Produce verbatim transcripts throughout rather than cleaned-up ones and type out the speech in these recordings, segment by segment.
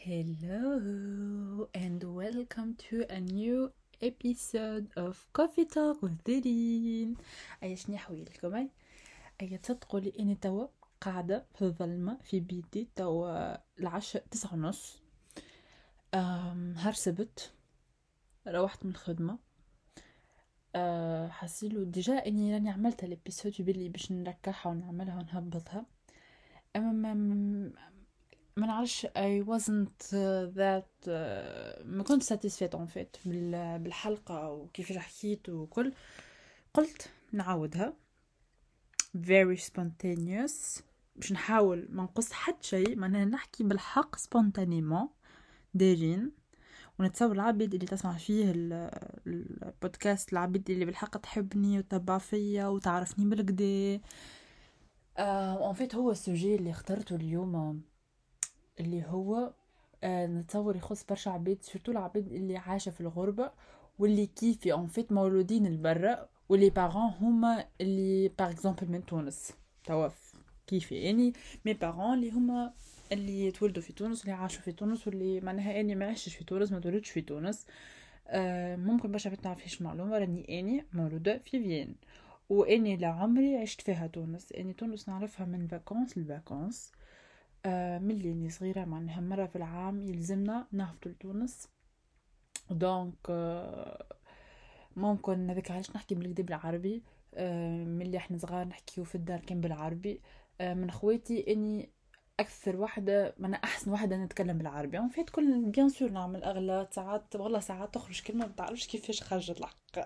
Hello and welcome to a new episode of Coffee Talk with ديرين. أي شني حويلكم أي أي تصدقوا لي إني توا قاعدة في الظلمة في بيتي توا العشاء تسعة ونص. أم هرسبت روحت من الخدمة. أه حسيلو ديجا إني راني عملت الابيسود بلي باش نركعها ونعملها ونهبطها. أما ما نعرفش I wasn't uh, that uh, ما كنت satisfied en fait بال- بالحلقة وكيف حكيت وكل. قلت نعاودها very spontaneous باش نحاول ما نقص حد شيء، معناها نحكي بالحق spontanément دارين، ونتصور العبيد اللي تسمع فيه ال- البودكاست، العبيد اللي بالحق تحبني وتتبع فيا وتعرفني بالكدا. آه، en fait هو السوجي اللي اخترته اليوم اللي هو آه نتصور يخص برشا عبيد، سورتو العبيد اللي عايشة في الغربة واللي كيفي ان فيت مولودين البرة، واللي بارون هما اللي باغ اكزومبل من تونس توا كيفي يعني مي بارون اللي هما اللي تولدوا في تونس واللي عاشوا في تونس واللي معناها اني ما عشتش في تونس ما تولدتش في تونس. آه ممكن برشا عبيد تعرفيش معلومة، راني اني مولودة في فين واني لعمري عشت فيها تونس. اني تونس نعرفها من فاكونس لفاكونس. آه من اللي صغيرة معناها مرة في العام يلزمنا نهبطوا لتونس، دونك آه ممكن هذاك علاش نحكي بالكدا بالعربي. آه من اللي احنا صغار نحكيو في الدار كان بالعربي. آه من خواتي اني اكثر واحدة من احسن واحدة نتكلم بالعربي، يعني فيت كل بيان سور نعمل اغلاط ساعات، والله ساعات تخرج كلمة ما تعرفش كيفاش خرجت الحق.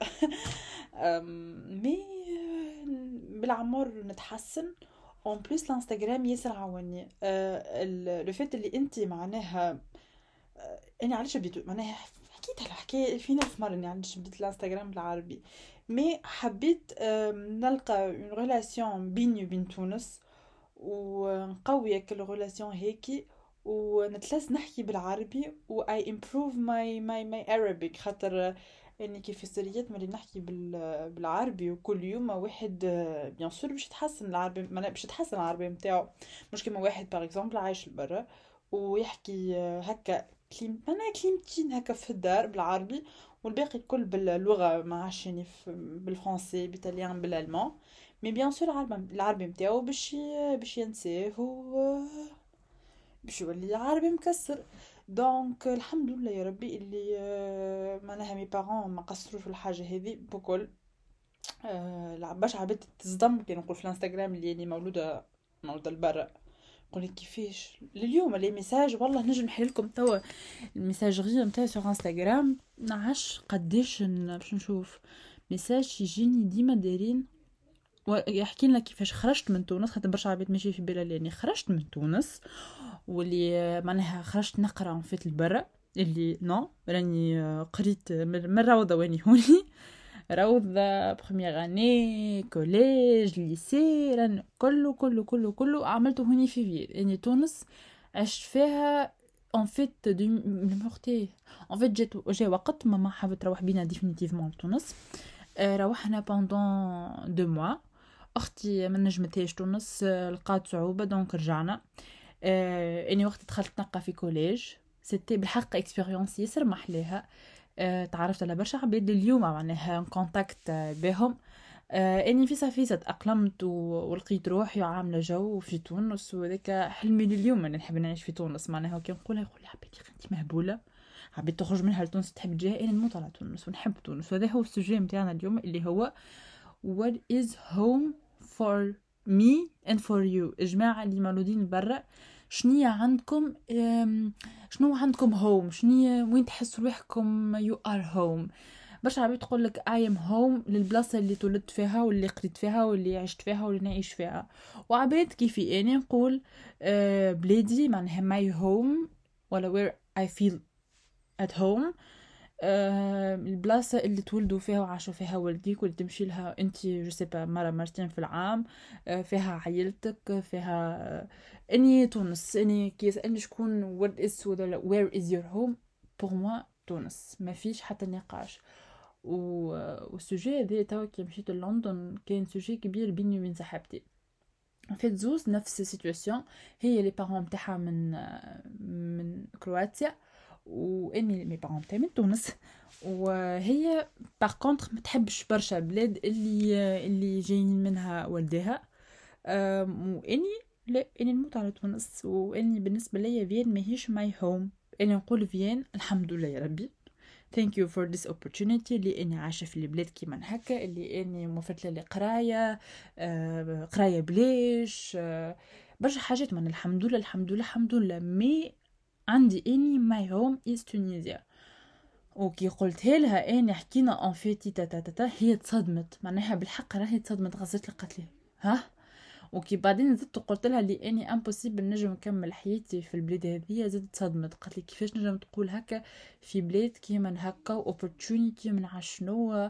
مي بالعمر نتحسن. اون بليس الانستغرام ياسر عاوني. أه لو فات اللي انت معناها أه انا علاش بديت معناها حكيت الحكايه فينا في مره اني علاش بديت الانستغرام بالعربي، مي حبيت أه نلقى اون ريلاسيون بيني وبين تونس ونقوي كل ريلاسيون هيك ونتلس نحكي بالعربي و I improve my my my Arabic، خاطر اني كيف في السريات ملي نحكي بال بالعربي وكل يوم واحد بيان سور باش يتحسن العربي، ما باش يتحسن العربي نتاعو، مش كيما واحد باغ اكزومبل عايش برا ويحكي هكا كليم انا كلمتين هكا في الدار بالعربي والباقي الكل باللغه ما عادش يعني بالفرنسي بالإيطاليان بالالمان، مي بيان سور العربي العربي نتاعو باش باش ينساه و باش يولي عربي مكسر. دونك الحمد لله يا ربي اللي آه، معناها مي بارون ما قصروش في الحاجه هذه بكل. آه باش عبيت تصدم كي نقول في الانستغرام اللي يعني مولوده مولوده لبرا، نقول لك كيفاش لليوم لي ميساج والله نجم نحل لكم توا الميساجري نتاعي سور انستغرام نعش قديش باش نشوف ميساج يجيني ديما دايرين ويحكي لنا كيفاش خرجت من تونس، خاطر برشا عباد ماشي في بالها لاني خرجت من تونس واللي معناها خرجت نقرا في البرة، اللي نو راني قريت من روضه واني هوني روضه بروميير اني كوليج ليسي ران كله كله كله كله عملته هوني في فيل يعني تونس عشت فيها ان فيت دو مورتي. ان فيت جات جا وقت ماما حابه تروح بينا ديفينيتيفمون لتونس. روحنا بوندون دو موا، اختي ما نجمتهاش تونس لقات صعوبه دونك رجعنا. آه اني وقت دخلت نقا في كوليج سيتي بالحق اكسبيريونس ياسر محليها. آه تعرفت على برشا عباد اليوم معناها كونتاكت بهم. آه اني في صافي تاقلمت ولقيت روحي عامله جو في تونس، وذاك حلمي لليوم انا نحب نعيش في تونس. معناها كي نقولها يقول لي عبيدي انت مهبوله عبيد تخرج منها لتونس تحب تجيها، انا نموت على تونس ونحب تونس. وهذا هو السوجي نتاعنا اليوم اللي هو what is home for me and for you. جماعة اللي مولودين برا شنية عندكم شنو عندكم home، شنية وين تحسوا روحكم you are home. باش عبيد تقول لك I am home للبلاصة اللي تولدت فيها واللي قريت فيها واللي عشت فيها واللي نعيش فيها. وعبيد كيفي أنا نقول بلادي معناها my home ولا where I feel at home. آه البلاصة اللي تولدوا فيها وعاشوا فيها والديك واللي تمشي لها انت جسبة مرة مرتين في العام. آه فيها عائلتك فيها. آه اني تونس اني كيس اني شكون what is where is your home pour moi تونس ما فيش حتى نقاش. والسوجي هذا توا كي مشيت لندن كان سوجي كبير بيني وبين صاحبتي. فات زوز نفس السيتواسيون. هي لي بارون نتاعها من من كرواتيا، واني مي بارون نتاعي من تونس. وهي باغ كونطخ ما تحبش برشا البلاد اللي اللي جايين منها والديها. أم، واني لا، اني نموت على تونس، واني بالنسبه ليا فين ماهيش ماي هوم. اني نقول فين الحمد لله يا ربي، thank you for this opportunity اللي اني عايشه في البلاد كيما هكا، اللي اني موفرت لي قرايه، آه قرايه بليش، آه برشا حاجات. من الحمد لله الحمد لله الحمد لله. مي عندي اني ماي هوم از تونيزيا. وكي قلتها لها اني حكينا ان فيتي تاتا تاتا، هي تصدمت معناها بالحق، راهي تصدمت، غزت لي قالت لي ها. وكي بعدين زدت قلت لها لي اني امبوسيبل نجم نكمل حياتي في البلاد هذه، زدت صدمت قالت لي كيفاش نجم تقول هكا في بلاد كيما هكا اوبورتونيتي من عشنو.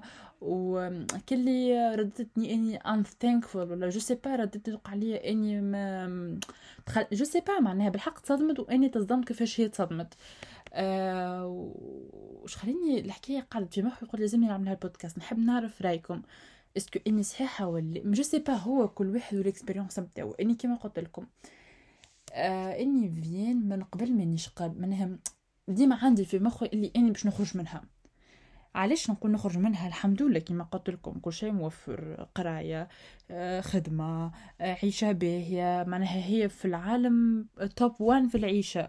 وكلي ردتني اني ام ثانكفول ولا جو سي با، ردت توقع عليا اني ما تخل... جو سي با معناها بالحق تصدمت، واني تصدمت كيفاش هي تصدمت. آه وش خليني الحكايه قعدت في مخي، قلت لازمني نعمل هالبودكاست، نحب نعرف رايكم. اسكو اني صحيحه ولا جو سي با، هو كل واحد والاكسبيريونس نتاعو. اني كيما قلت لكم آه اني فين من قبل مانيش قاب منها، ديما عندي في مخي اللي اني باش نخرج منها. علاش نقول نخرج منها؟ الحمد لله كيما قلت لكم كل شيء موفر، قرايه، آه خدمه، آه عيشه باهيه، معناها هي في العالم توب وان في العيشه.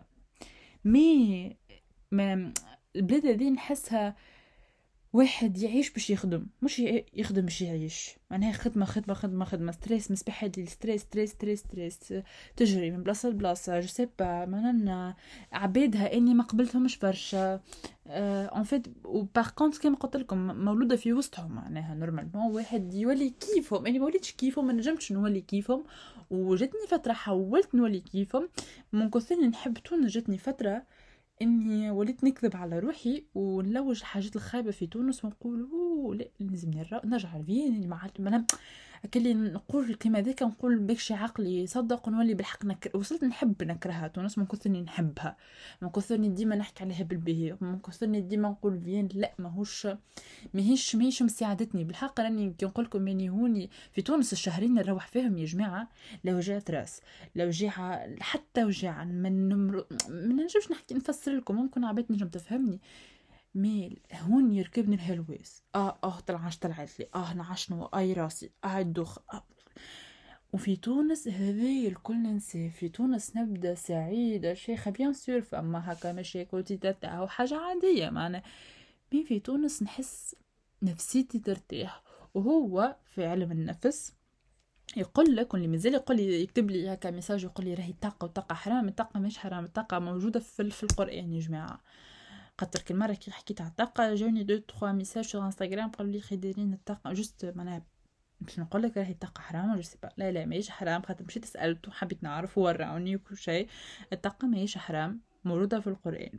مي ما البلاد هذه نحسها واحد يعيش باش يخدم، مش يخدم باش يعيش. معناها خدمه خدمه خدمه خدمه، ستريس مصباح هادي، ستريس ستريس ستريس ستريس، تجري من بلاصه لبلاصه. جو سي با معناها عبيدها اني ما قبلتهمش برشا اون فيت. وباغ كونت كيما قلت لكم مولوده في وسطهم، معناها نورمالمون واحد يولي كيفهم. اني ما وليتش كيفهم، ما نجمتش نولي كيفهم. وجتني فتره حاولت نولي كيفهم من كثر نحب تونس. جتني فتره اني وليت نكذب على روحي ونلوج الحاجات الخايبه في تونس، ونقول اوه لا لازم نرجع لفين اللي ما عاد ما كلي نقول كيما ذاك، نقول بكشي عقلي يصدق ونولي بالحق نكر. وصلت نحب نكرهها تونس من كثرني نحبها، من كثرني ديما نحكي عليها بالبهي، من كثرني ديما نقول فين لا ماهوش ماهيش ماهيش مساعدتني بالحق. راني كي نقول لكم اني هوني في تونس الشهرين اللي نروح فيهم يا جماعه، لو جات راس، لو وجيعه، حتى وجيعه من نمر... ما نجمش نحكي نفسر لكم، ممكن عبيت نجم تفهمني. مي هون يركبني الهلويس، اه اه طلعش طلعت لي، اه نعشنو اي راسي، اه الدخ آه. وفي تونس هذي الكل ننسى. في تونس نبدا سعيده شيخه بيان سور، فما هكا مشاكل تاع وحاجه عاديه معنا. مي في تونس نحس نفسيتي ترتاح. وهو في علم النفس يقول لك، واللي مازال يقول لي يكتب لي هكا ميساج يقول لي راهي الطاقه والطاقه حرام. الطاقه مش حرام، الطاقه موجوده في, في القران يا جماعه. خاطر كل مره كي حكيت على الطاقه جاوني دو تخوا ميساج في انستغرام قالوا لي خي دايرين الطاقه جوست معناها باش نقول لك راهي الطاقه حرام. جو سي با، لا لا ماهيش حرام. خاطر مشيت سالت وحبيت نعرف وراوني وكل شيء. الطاقه ماهيش حرام، موجوده في القران.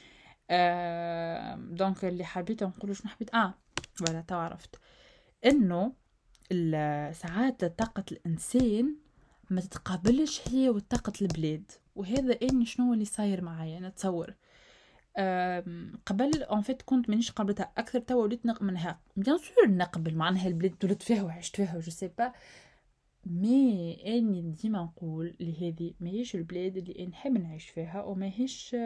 آه دونك اللي حبيت نقول شنو حبيت اه ولا تو عرفت انه ساعات طاقة الإنسان ما تتقابلش هي وطاقة البلاد. وهذا إني شنو اللي صاير معايا نتصور. قبل ان فيت كنت مانيش قابلتها اكثر، تو وليت نق منها بيان سور نقبل معناها البلاد ولدت فيها وعشت فيها جو سي با. مي اني ديما نقول لهذه ماهيش البلاد اللي نحب نعيش فيها، وماهيش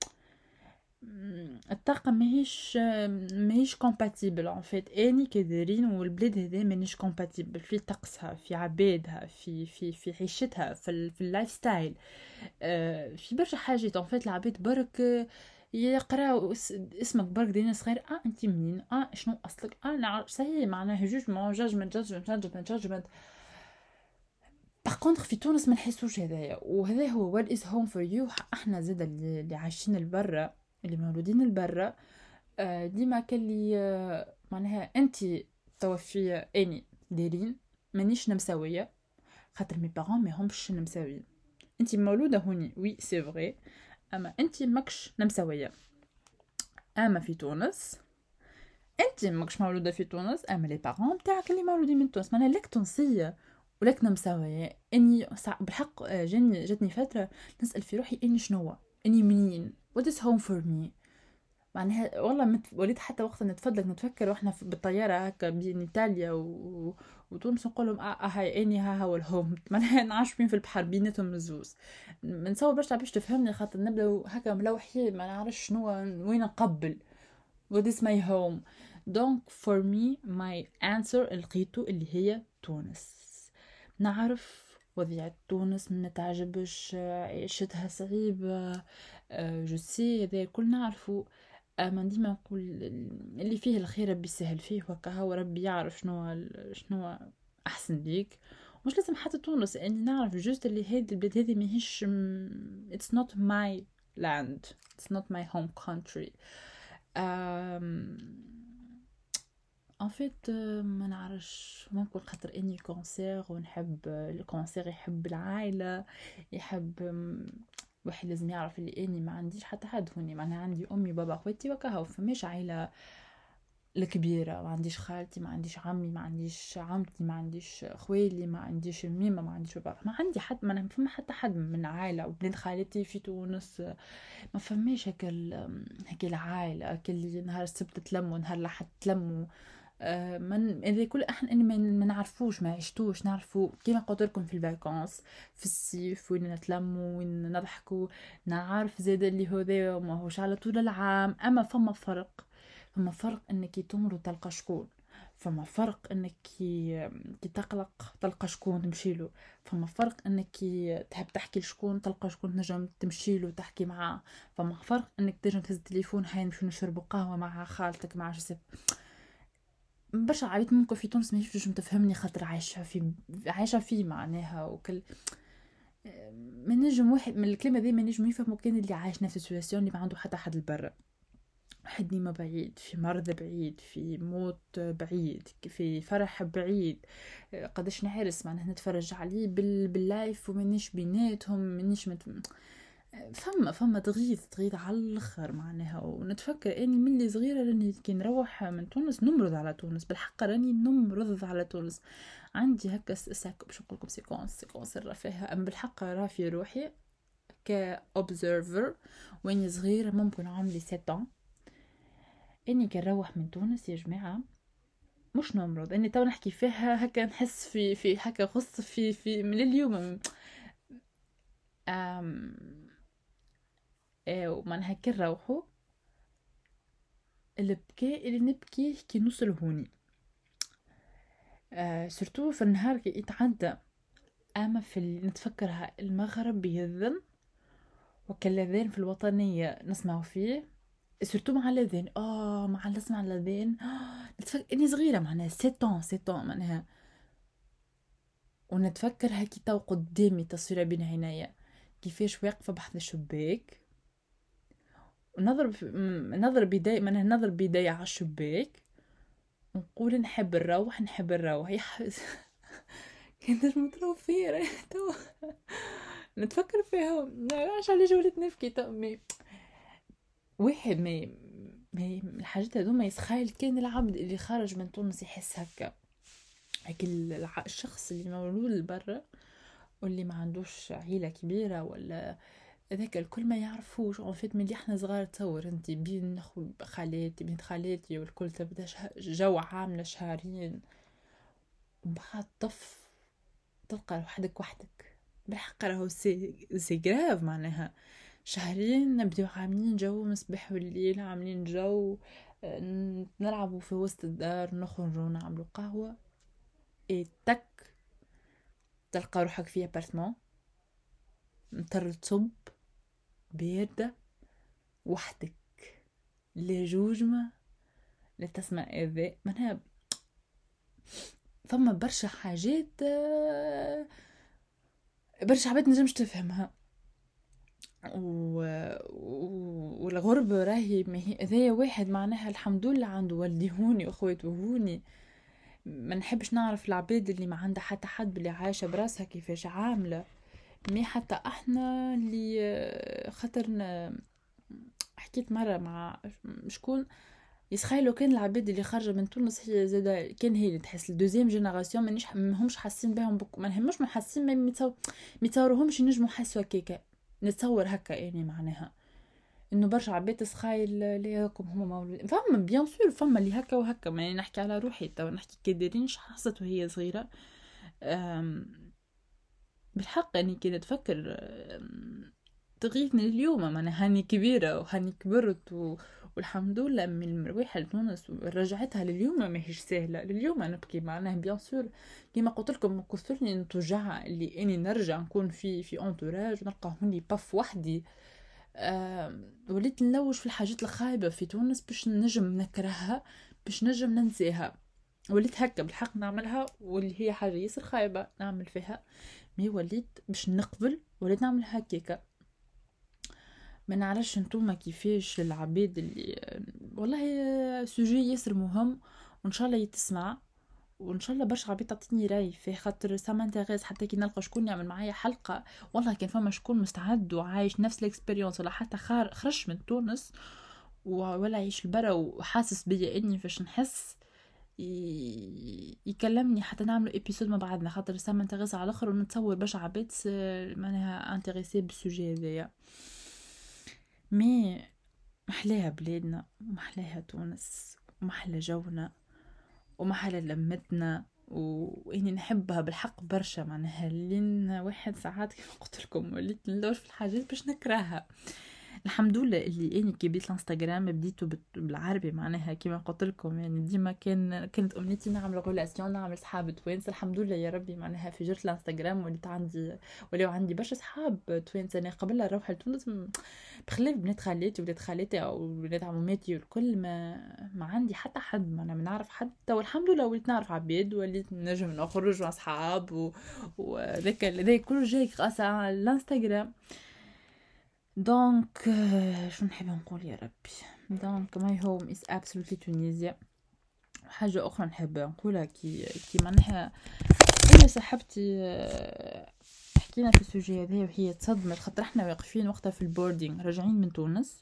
الطاقه ماهيش ماهيش كومباتيبل ان فيت. اني كدارين والبلاد هذا مانيش كومباتيبل في طقسها، في عبادها، في في في عيشتها، في في اللايف ستايل، في برشا حاجات ان فيت. العباد برك يقراو اسمك برك دينا صغير، اه انت منين، اه شنو اصلك، اه نعرف صحيح معناها جوجمون جاجمنت جاجمنت جاجمنت جاجمنت. باغ كونطخ في تونس ما نحسوش هذايا. وهذا هو وات از هوم فور يو. احنا زاد اللي عايشين البرا، اللي مولودين البرا، آه ديما كلي آه معناها انت توفي اني دايرين مانيش نمساويه، خاطر مي بارون ما همش نمساويين. انت مولوده هوني وي سي فري، اما انت ماكش نمساويه. اما في تونس انت ماكش مولوده في تونس، اما لي بارون تاعك اللي مولودين من تونس، معناها لك تونسيه ولك نمساويه. اني بالحق جاني جاتني فتره نسال في روحي اني شنو، اني منين، what is home for me. معناها والله مت... وليت حتى وقت نتفضل نتفكر واحنا في- بالطياره هكا بين ايطاليا و... وتونس، نقول لهم اه آه هاي اني ها هو الهوم معناها نعاش في البحر بيناتهم الزوز. نتصور برشا باش تفهمني، خاطر نبداو هكا ملوحين ما نعرفش شنو وين نقبل. what is my home. donc for me my answer لقيته اللي هي تونس. نعرف وضيعة تونس ما تعجبش، عيشتها صعيبة، جو سي هذا الكل نعرفه. اما ديما نقول اللي فيه الخير ربي يسهل فيه، وكا هو ربي يعرف شنو شنو احسن ليك. مش لازم حتى تونس، اني نعرف جوست اللي هذه البلاد هذه ماهيش it's not my land, it's not my home country. ان فيت ما نعرفش، ممكن خاطر اني كونسير ونحب الكونسير، يحب العائله، يحب واحد لازم يعرف اللي اني ما عنديش حتى حد هوني، معناها عندي امي بابا اخواتي وكهو، فماش عائله الكبيره، ما عنديش خالتي، ما عنديش عمي، ما عنديش عمتي، ما عنديش خويلي، ما عنديش ميمه، ما عنديش بابا، ما عندي حد، ما فما حتى حد من عائله. وبنت خالتي في تونس، ما فماش هكا هكا العائله هكا اللي نهار السبت تلموا نهار الاحد تلموا. آه من هذا كل احنا اني ما نعرفوش ما عشتوش نعرفوا كيما قلت لكم في الفاكانس في الصيف وين نتلموا وين نضحكوا. نعرف زاد اللي هو ذا ما هوش على طول العام، اما فما فرق. فما فرق انك تمر وتلقى شكون، فما فرق انك كي تقلق تلقى شكون تمشي له، فما فرق انك تحب تحكي لشكون تلقى شكون تنجم تمشي له تحكي معاه، فما فرق انك تنجم تهز التليفون هاي نمشيو نشربوا قهوه مع خالتك مع جسد. برشا عبيد ممكن في تونس ما يفوتوش تفهمني، خاطر عايشه في عايشه فيه معناها وكل ما نجم واحد من الكلمه ذي ما نجم يفهموا كان اللي عايش نفس السيتواسيون اللي ما عنده حتى حد البرا. واحد نيمة بعيد، في مرض بعيد، في موت بعيد، في فرح بعيد، قداش نحرس معناها نتفرج عليه بال... باللايف ومانيش بيناتهم مانيش مت... فما فما تغيظ تغيظ على الاخر معناها. ونتفكر اني من اللي صغيره راني كي نروح من تونس نمرض على تونس، بالحق راني نمرض على تونس. عندي هكا ساك باش نقول لكم سيكونس سيكونس الرفاهه، ام بالحق راه في روحي كأوبزرفر واني صغيره ممكن عمري سبعة، اني كنروح من تونس يا جماعه مش نمرض، اني تو نحكي فيها هكا نحس في في هكا خص في في من اليوم. ام ايه ومن هكا نروحوا البكاء اللي نبكيه كي نوصل هوني، آه سورتو في النهار كي يتعدى. اما في اللي نتفكرها المغرب يذن وكالاذان في الوطنيه نسمعوا فيه، سورتو مع الاذان اه مع نسمع الاذان آه نتفكر اني صغيره معناها سيتون سيتون معناها. ونتفكر هكي تو قدامي تصويره بين عينيا كيفاش واقفه بحث الشباك ونضرب نضرب بيدي معناها نضرب بيدي على الشباك ونقول نحب نروح نحب نروح يا كانت متروفية تو نتفكر فيها عش على جولة نفكي تو مي واحد ما ما الحاجات هذوما يتخيل كان العبد اللي خارج من تونس يحس هكا هكا الشخص اللي مولود برا واللي ما عندوش عيلة كبيرة ولا هذاك الكل ما يعرفوش اون فيت ملي احنا صغار. تصور انت بين نخو خالاتي بنت خالاتي والكل تبدا جو عاملة شهرين وبعد طف تلقى وحدك وحدك بالحق راهو سي سي جراف معناها. شهرين نبداو عاملين جو مصباح والليل عاملين جو نلعبوا في وسط الدار نخرجوا نعملوا قهوة اي تك تلقى روحك في ابارتمون مطر تصب باردة وحدك لا جوجمة لا تسمع اذى منها. فما برشا حاجات برشا عباد نجمش تفهمها و... و... والغربة راهي مهي ذي واحد معناها الحمد لله عنده والدي هوني واخواتي هوني. ما نحبش نعرف العباد اللي ما عندها حتى حد اللي عايشة براسها كيفاش عاملة. مي حتى احنا اللي خاطرنا حكيت مرة مع شكون يسخيلو كان العباد اللي خارجه من تونس هي زاده كان هي اللي تحس الدوزيام جينيراسيون مانيش ماهمش حاسين بهم بك... ما همش محسين ما متصور متصورهمش ينجموا يحسوا هكاكا. نتصور هكا يعني معناها انه برشا عباد سخايل ليكم هما مولود فما بيان سور فما اللي هكا وهكا، ما نحكي على روحي تو نحكي كديرينش حصلت وهي صغيره. بالحق اني كي نتفكر تغيثني اليوم، معناها هاني كبيره وهاني كبرت و... والحمد لله من المرويحه لتونس ورجعتها لليوم ما هيش سهله. لليوم انا نبكي معناها بيان سور كيما قلت لكم كثرني نتوجع اللي اني نرجع نكون في في انتوراج ونلقى هوني باف وحدي. أه وليت نلوج في الحاجات الخايبه في تونس باش نجم نكرهها باش نجم ننساها. وليت هكا بالحق نعملها، واللي هي حاجه ياسر خايبه نعمل فيها، مي وليت باش نقبل وليت نعمل هكاكا. ما نعرفش نتوما كيفاش العباد اللي والله سوجي ياسر مهم وان شاء الله يتسمع، وان شاء الله برشا عباد تعطيني راي فيه، خاطر سا مانتيريس حتى كي نلقى شكون يعمل معايا حلقه. والله كان فما شكون مستعد وعايش نفس الاكسبيريونس ولا حتى خار خرج من تونس ولا يعيش البرا وحاسس بيا اني فاش نحس ي... يكلمني حتى نعملوا ابيسود مع بعضنا، خاطر سا مانتيريس على الاخر ونتصور برشا عباد معناها انتريسي بالسوجي هذايا. مي محلاها بلادنا ومحلاها تونس ومحلى جونا ومحلى لمتنا واني نحبها بالحق برشا. معناها لين واحد ساعات كيف قلت لكم وليت نلوش في الحاجات باش نكرهها. الحمد لله اللي اني كي بديت الانستغرام بديته بالعربي، معناها كيما قلت لكم يعني ديما كان كانت امنيتي نعمل غولاسيون نعمل صحاب توانسه. الحمد لله يا ربي معناها في جرت الانستغرام وليت عندي وليو عندي برشا صحاب توانسه. انا قبل نروح لتونس بخلاف بنات خالاتي وولاد خالاتي او ولاد عموماتي والكل ما ما عندي حتى حد، ما انا نعرف حتى، والحمد لله وليت نعرف عباد وليت نجم نخرج مع اصحاب وذاك هذا كل جاي خاص على الانستغرام. دونك شو نحب نقول يا ربي، دونك ماي هوم از ابسولوتلي تونيزيا. حاجه اخرى نحب نقولها كي كي معناها انا صاحبتي حكينا في السوجي هذا وهي تصدمت خاطر احنا واقفين وقتها في البوردينغ راجعين من تونس،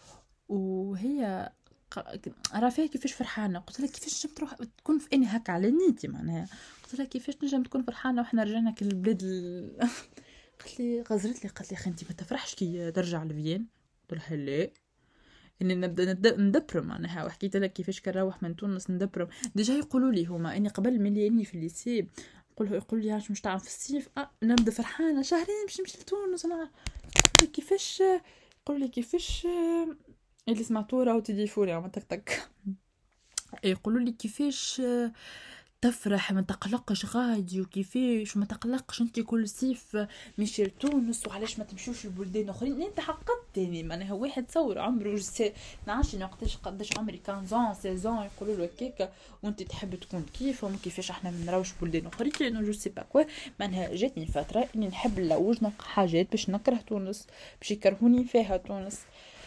وهي راه فيها كيفاش فرحانه. قلت لها كيفاش نجم تروح تكون في اني هكا على نيتي، معناها قلت لها كيفاش نجم تكون فرحانه واحنا رجعنا كل البلاد ال... قالت لي غزرت لي قالت لي خنتي ما تفرحش كي ترجع لفيين؟ قلت لها لا اني نبدا ندبرم معناها، وحكيت لك كيفاش كنروح من تونس ندبرم. ديجا يقولوا لي هما اني قبل ملي اني في الليسي نقول يقول لي علاش مش تعرف في الصيف اه نبدا فرحانه شهرين باش نمشي لتونس. انا كيفاش يقول لي كيفاش اللي سمعتوه راهو تليفوني عم تك تك يقولوا لي كيفاش تفرح ما تقلقش غادي وكيفاش ما تقلقش انت كل صيف مشي لتونس وعلاش ما تمشوش لبلدان اخرين. انت حققتني معناها واحد تصور عمره نعرفش وقتاش قداش عمري خمسة ستة يقولوا له هكاك وانت تحب تكون كيفهم كيفاش احنا ما نراوش بلدان اخرين لانه جو سي با كوا. معناها جاتني فتره اني نحب نلوج نلقى حاجات باش نكره تونس باش يكرهوني فيها تونس.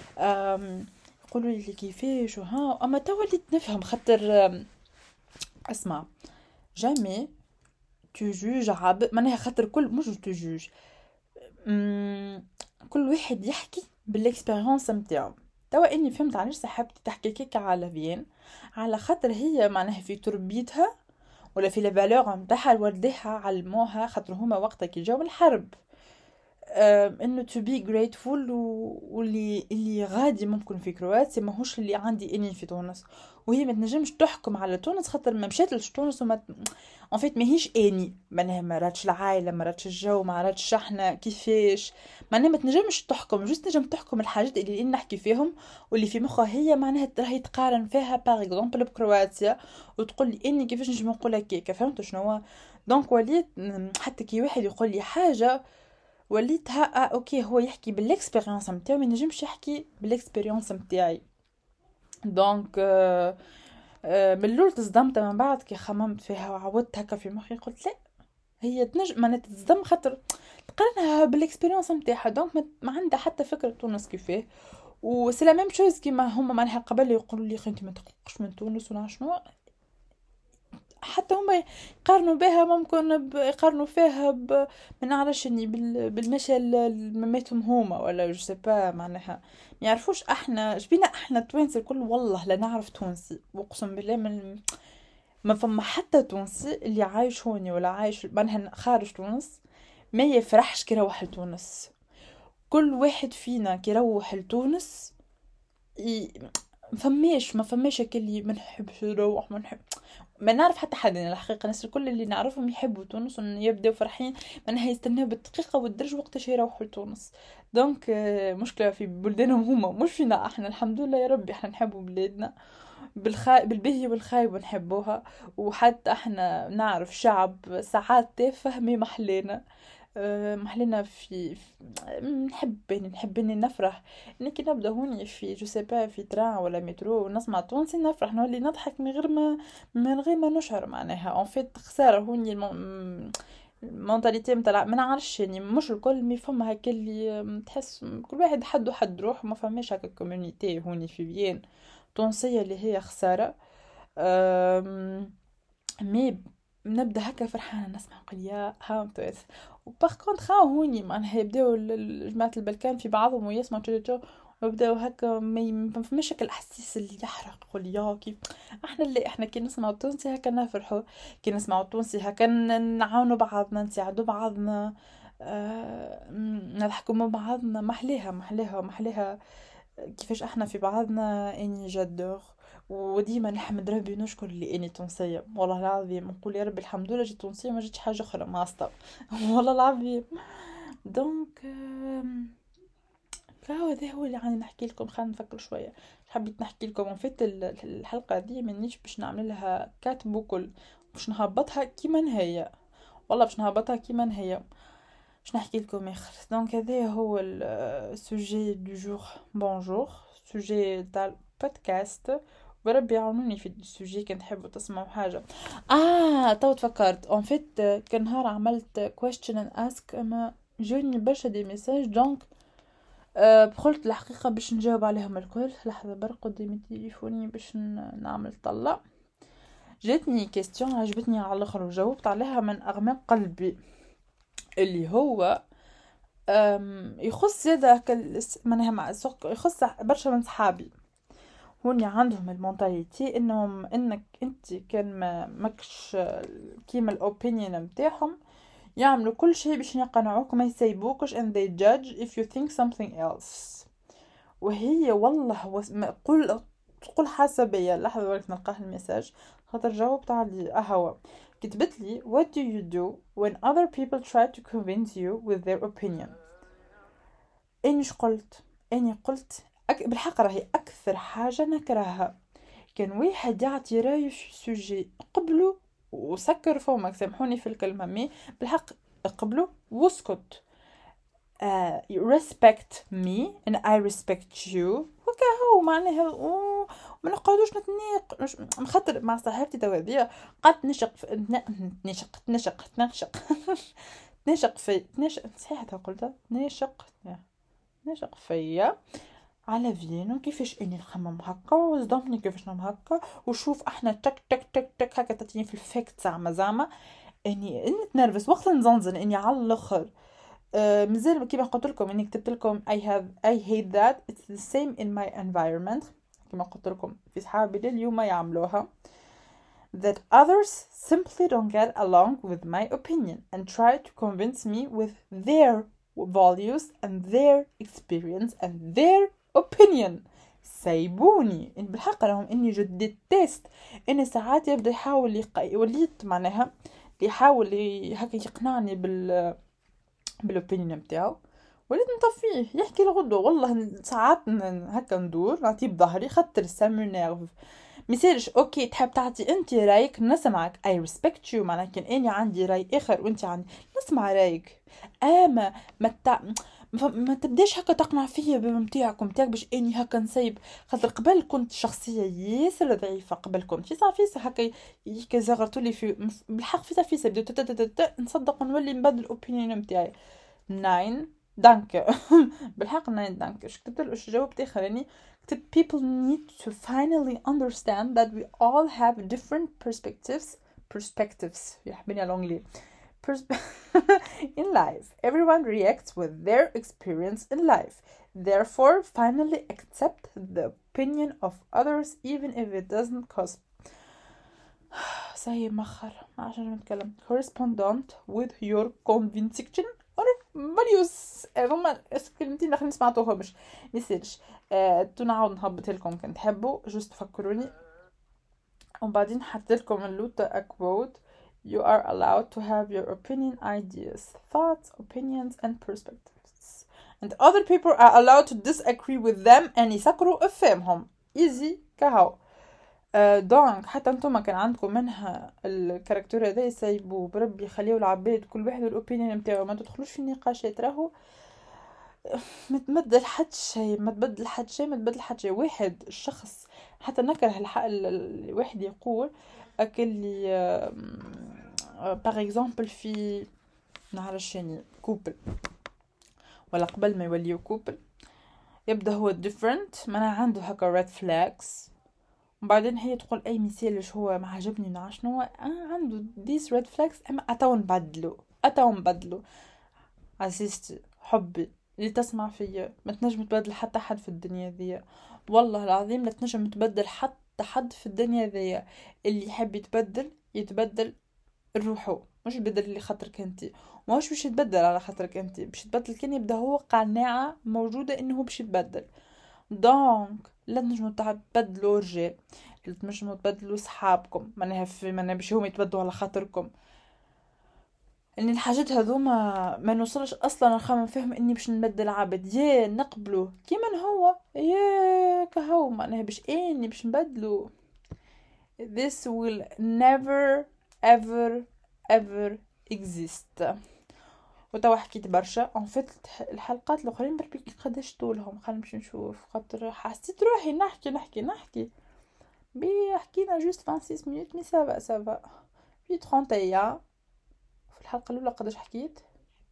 يقولوا لي كيفاش وها اما تو وليت نفهم خاطر اسمع جامي تجوج عبد معناها خاطر كل مش تجوج كل واحد يحكي بالاكسبيرينس نتاعو. توا اني فهمت علاش صاحبتي تحكي كيك على فين، على خاطر هي معناها في تربيتها ولا في الفالور نتاعها والديها علموها خاطر هما وقتها كي جاو الحرب انه to be grateful واللي اللي غادي ممكن في كرواتيا ماهوش اللي عندي اني في تونس. وهي ما تنجمش تحكم على تونس خاطر ما مشات لتونس وما ان فيت ماهيش اني معناها ما راتش العائله ما راتش الجو ما راتش احنا كيفاش معناها ما تنجمش تحكم جوست نجم تحكم الحاجات اللي نحكي فيهم واللي في مخها هي معناها راهي تقارن فيها باغ اكزومبل بكرواتيا وتقول لي اني كيفاش نجم نقول هكاك. فهمت شنو؟ دونك وليت حتى كي واحد يقول لي حاجه وليت ها آه اوكي هو يحكي بالاكسبيرينس نتاعو ما نجمش يحكي بالاكسبيرينس نتاعي. دونك آه آه من الاول تصدمت من بعد كي خممت فيها وعودت هكا في مخي قلت لا هي تنجم ما تصدم خاطر تقارنها بالاكسبيرينس نتاعها. دونك ما عندها حتى فكره تونس كيفاه وسي لا ميم شوز كيما هما معناها قبل يقولوا لي انت ما تقلقش من تونس ولا شنو حتى هما يقارنوا بها ممكن يقارنوا فيها ب ما نعرفش اني بالمشى مماتهم هما ولا جو سي با معناها ما يعرفوش احنا جبينا احنا التوانسه الكل. والله لا نعرف تونسي واقسم بالله من ما فما حتى تونسي اللي عايش هوني ولا عايش معناها خارج تونس ما يفرحش كي يروح لتونس كل واحد فينا كي يروح لتونس ي... فماش ما فماش اللي ما نحبش نروح ما نحب ما نعرف حتى حد. يعني الحقيقه الناس الكل اللي نعرفهم يحبوا تونس ويبداو فرحين، معناها يستناو بالدقيقه والدرج وقتاش يروحوا لتونس. دونك آه، مشكله في بلدانهم هما مش فينا احنا. الحمد لله يا ربي احنا نحبوا بلادنا بالخا... بالبهي والخايب نحبوها. وحتى احنا نعرف شعب ساعات تافه مي محلينا. أه، محلينا في في- نحب يعني نحب اني نفرح. اني كي نبدا هوني في جو سي با في تران ولا مترو ونسمع تونسي نفرح نولي نضحك من غير ما من غير ما نشعر. معناها اون فيت خساره هوني الم... المونتاليتي متاع ما نعرفش يعني مش الكل مي فما هكا اللي تحس كل واحد حد حد روح وما فماش هكا كوميونيتي هوني في فيين تونسيه اللي هي خساره. أم... مي نبدا هكا فرحانه نسمع نقول يا هاو. وباغ كونطخ ها هوني معناها يبداو ال- ال- جماعة البلكان في بعضهم ويسمعوا تو تو ويبداو هكا ما يم- ما فماش هكا الاحاسيس اللي يحرق واللي يا كيف. احنا اللي احنا كي نسمعوا التونسي هكا نفرحوا، كي نسمعوا التونسي هكا ن- نعاونوا بعضنا نساعدوا بعضنا. آه م- نضحكوا مع بعضنا محليها محليها محليها. كيفاش احنا في بعضنا اني جادور. وديما نحمد ربي ونشكر اللي اني تونسيه. والله العظيم نقول يا ربي الحمد لله جيت تونسيه ما جيتش حاجه اخرى ما استوى. والله العظيم. دونك آم، فهو هذا هو اللي عندي نحكي لكم. خلينا نفكر شويه. حبيت نحكي لكم ان فيت ال- الحلقه دي منيش باش نعمل لها كاتب وكل، باش نهبطها كيما هي. والله باش نهبطها كيما هي. باش نحكي لكم اخر. دونك هذا هو السوجي دو جور. بونجور سوجي تاع البودكاست. وربي يعاونوني في السوجي كان تحبوا تسمعوا حاجه. اه تو تفكرت اون فيت كان نهار عملت question and ask اما جوني برشا دي ميساج. دونك أه قلت الحقيقه باش نجاوب عليهم الكل. لحظه برق قدامي تليفوني باش ن- نعمل طلع. جاتني كيستيون عجبتني على الاخر وجاوبت عليها من اغماق قلبي. اللي هو أم، يخص زادا كال معناها مع السوق يخص برشا من صحابي. هوني عندهم المونتاليتي انهم انك انت كان ما ماكش كيما الاوبينيون نتاعهم يعملوا كل شيء باش يقنعوك ما يسيبوكش and they judge if you think something else. وهي والله وس... ما قول تقول حاسه بيا. لحظه ولكن نلقاه الميساج خاطر جاوبت عليه اهو. كتبت لي what do you do when other people try to convince you with their opinion. انيش قلت اني قلت أك... بالحق راهي اكثر حاجه نكرهها كان واحد يعطي رايه في سوجي قبله وسكر فمك سامحوني في الكلمه مي بالحق قبله واسكت. uh, you respect me and I respect you وكهو معناها و- وما نقعدوش نتناقش مخاطر مع صاحبتي توادية قعدت نشق في... ن- نشق تنشق تنشق تنشق في تنشق صحيح قلتها تنشق نشق فيا على فينو كيفاش اني نخمم هكا وصدمني كيفاش نعمل هكا. وشوف احنا تك تك تك تك هكا تاتيني في الفيكت زعما زعما اني اني تنرفز وقت نزنزن اني على الاخر. آه مازال كيما قلت لكم اني كتبت لكم I have I hate that it's the same in my environment. كيما قلت لكم في صحابي لليوم يعملوها that others simply don't get along with my opinion and try to convince me with their values and their experience and their opinion. سايبوني إن بالحق راهم اني جد تيست اني ساعات يبدا يحاول يق... وليت معناها يحاول ي... هكا يقنعني بال بالاوبينيون نتاعو. وليت نطفيه يحكي الغدو. والله ساعات ن- هكا ندور نعطيه بظهري خاطر سامو نيرف ميسالش اوكي تحب تعطي انت رايك نسمعك I respect you. معناها كان اني عندي راي اخر وانت عندي نسمع رايك. اما ما تع... ما ما تبداش هكا تقنع فيا بمتاعك ومتاعك باش اني هكا نسيب. خاطر قبل كنت شخصيه ياسر ضعيفه. قبل كنت في صافيسه هكا يكا زغرتولي في بالحق في صافيسه بديت نصدق ونولي نبدل الاوبينيون نتاعي. ناين دانك بالحق ناين دانك. اش كتبت له اش جاوبت اخر يعني كتبت people need to finally understand that we all have different perspectives perspectives يحبني الانجلي Perspe- in life. Everyone reacts with their experience in life. Therefore, finally accept the opinion of others even if it doesn't cause say مخر عشان نتكلم correspondent with your conviction or مليوس هما كلمتين الاخرين سمعتوهمش ميسالش. آه تنعاود نهبط لكم كنت تحبوا جوست تفكروني. ومن بعدين حطيت لكم اللوتا quote: you are allowed to have your opinion, ideas, thoughts, opinions and perspectives and other people are allowed to disagree with them and يسكروا افهمهم. easy كهو. آه دونك حتى انتم كان عندكم منها الكاركتير هذا يسيبوه بربي خليه العباد كل واحد والاوبينيون نتاعو، ما تدخلوش في نقاشات. راهو ما تبدل حد شيء، ما تبدل حد شيء، ما تبدل حد شيء. واحد الشخص حتى نكره الحق الواحد يقول اكلي باغ اكزومبل في نعرفش يعني كوبل ولا قبل ما يوليو كوبل يبدا هو different ما عنده هكا red flags، وبعدين هي تقول اي مثال هو ما عجبني نعرف شنو انا عنده these red flags اما اتاو نبدلو اتاو نبدلو. عزيزتي حبي اللي تسمع فيا ما تنجم تبدل حتى حد في الدنيا ذي، والله العظيم لا تنجم تبدل حتى حد في الدنيا ذي. اللي يحب يتبدل يتبدل روحه، مش يبدل اللي خاطرك انت، ماهوش باش يتبدل على خاطرك انت، باش يتبدل كان يبدا هو قناعه موجوده انه هو باش يتبدل. دونك لا تنجموا تبدلوا رجال، لا تنجموا تبدلوا صحابكم، معناها في معناها باش هم يتبدلوا على خاطركم. ان الحاجات هذوما ما نوصلش اصلا نخمم فيهم اني باش نبدل عبد، يا نقبله كيما هو يا كهو معناها باش اني باش نبدله. this will never ever ever exist. وتوا حكيت برشا ان فيت الحلقات الاخرين بربي قداش طولهم، خلينا نمشي نشوف خاطر حسيت روحي نحكي نحكي نحكي بي حكينا جوست خمسة وعشرين مينوت مي سافا سافا في ثلاثين. في الحلقه الاولى قداش حكيت؟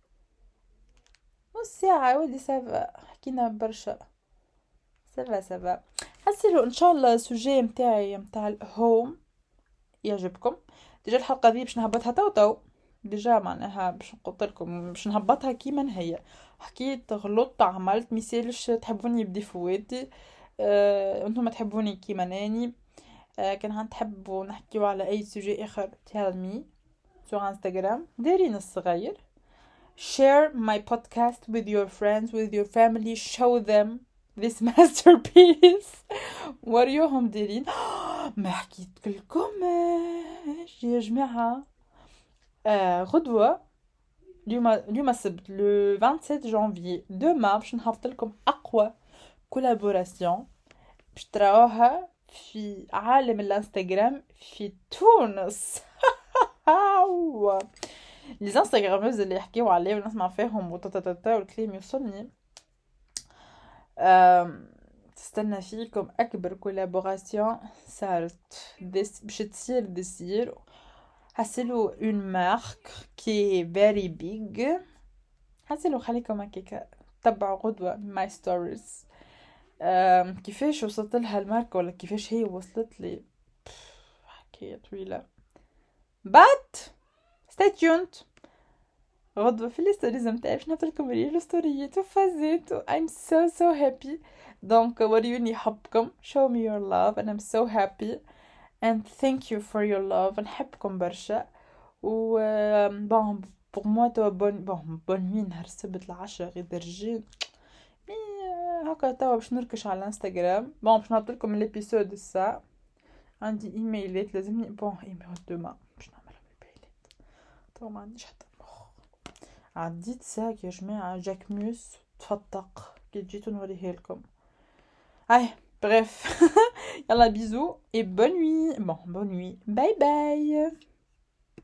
نص ساعه ولدي سافا، حكينا برشا سافا سافا. حسيلو ان شاء الله السوجي متاعي متاع الهوم يعجبكم. ديجا الحلقه دي باش نهبطها تو تو ديجا معناها باش نقول لكم باش نهبطها كيما هي. حكيت غلطت عملت ميسالش تحبوني بديفواتي، أه، انتم ما تحبوني كيما ناني. أه، كان تحبوا نحكيو على اي سوجي اخر tell me sur Instagram دايرين الصغير. share my podcast with your friends with your family, show them this masterpiece. وريوهم دايرين. ما حكيت لكم يا جماعه آه غدوه اليوم اليوم السبت لو سبعة وعشرين جانفي دوما باش نهبط لكم اقوى كولابوراسيون باش تراوها في عالم الانستغرام في تونس. لي انستغراموز اللي يحكيو عليه ونسمع فيهم وتتتتا والكلام يوصلني. تستنى فيكم اكبر كولابوراسيون صارت باش تصير دسير. حسلو اون مارك كي فيري بيج. حسلو خليكم هكاكا تبعوا غدوه ماي ستوريز كيفاش وصلت لها الماركه ولا كيفاش هي وصلت لي، حكايه طويله. بات stay tuned غدوه في الستوريز نتاعي باش نحطلكم ريل ستوريات وفازات و I'm so so happy. دونك وريوني حبكم show me your love and I'm so happy and thank you for your love. نحبكم برشا و بون بور موا توا بون بون بون نوي نهار السبت العشرة غير درجين مي هكا توا باش نركش على الانستغرام. بون باش نحط لكم الابيسود الساعه. عندي ايميلات لازمني بون ايميل دوما باش نعملهم ايميلات توا ما عنديش حتى مخ. عديت ساك يا جماعه جاكموس تفتق كي جيتو نوريه لكم. هاي bref. Yalla bisous et bonne nuit. Bon, bonne nuit. Bye bye.